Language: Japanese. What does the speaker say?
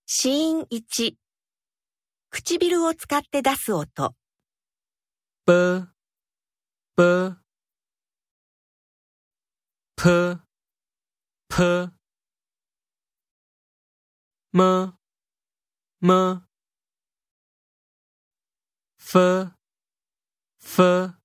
子音1、唇を使って出す音。 b、b、p、p、m、m、f、f、